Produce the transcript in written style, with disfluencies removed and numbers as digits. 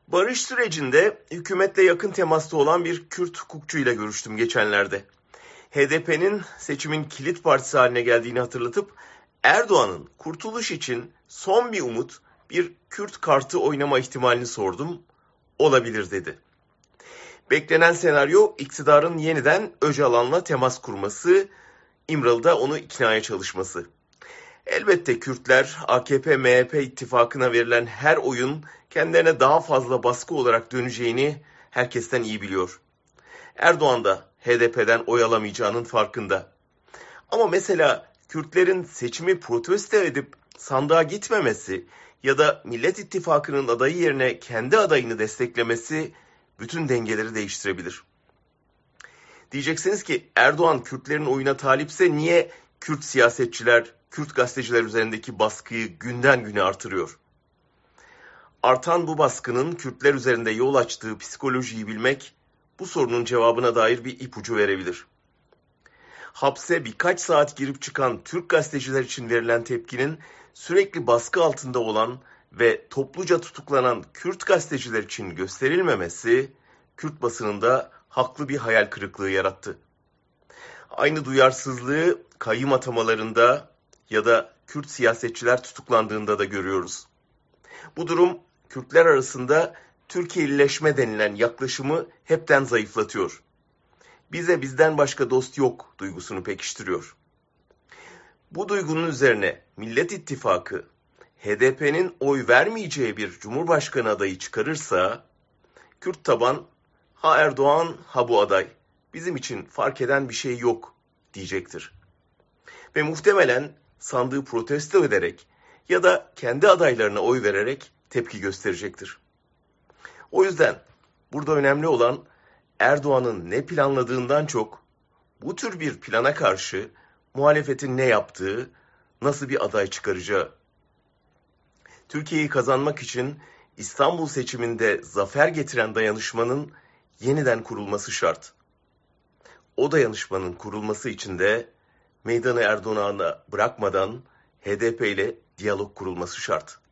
Barış sürecinde hükümetle yakın temasta olan bir Kürt hukukçuyla görüştüm geçenlerde. HDP'nin seçimin kilit partisi haline geldiğini hatırlatıp Erdoğan'ın kurtuluş için son bir umut bir Kürt kartı oynama ihtimalini sordum. Olabilir dedi. Beklenen senaryo iktidarın yeniden Öcalan'la temas kurması, İmralı'da onu iknaya çalışması. Elbette Kürtler AKP-MHP ittifakına verilen her oyun kendilerine daha fazla baskı olarak döneceğini herkesten iyi biliyor. Erdoğan da HDP'den oy alamayacağının farkında. Ama mesela Kürtlerin seçimi protesto edip sandığa gitmemesi ya da Millet İttifakı'nın adayı yerine kendi adayını desteklemesi bütün dengeleri değiştirebilir. Diyeceksiniz ki Erdoğan Kürtlerin oyuna talipse niye Kürt siyasetçiler, Kürt gazeteciler üzerindeki baskıyı günden güne artırıyor? Artan bu baskının Kürtler üzerinde yol açtığı psikolojiyi bilmek bu sorunun cevabına dair bir ipucu verebilir. Hapse birkaç saat girip çıkan Türk gazeteciler için verilen tepkinin sürekli baskı altında olan ve topluca tutuklanan Kürt gazeteciler için gösterilmemesi Kürt basınında haklı bir hayal kırıklığı yarattı. Aynı duyarsızlığı kayyım atamalarında ya da Kürt siyasetçiler tutuklandığında da görüyoruz. Bu durum Kürtler arasında Türkiye'lileşme denilen yaklaşımı hepten zayıflatıyor. Bize bizden başka dost yok duygusunu pekiştiriyor. Bu duygunun üzerine Millet İttifakı HDP'nin oy vermeyeceği bir cumhurbaşkanı adayı çıkarırsa Kürt taban ha Erdoğan ha bu aday bizim için fark eden bir şey yok diyecektir. Ve muhtemelen sandığı protesto ederek ya da kendi adaylarına oy vererek tepki gösterecektir. O yüzden burada önemli olan Erdoğan'ın ne planladığından çok bu tür bir plana karşı muhalefetin ne yaptığı, nasıl bir aday çıkaracağı. Türkiye'yi kazanmak için İstanbul seçiminde zafer getiren dayanışmanın yeniden kurulması şart. O dayanışmanın kurulması için de meydanı Erdoğan'a bırakmadan HDP ile diyalog kurulması şart.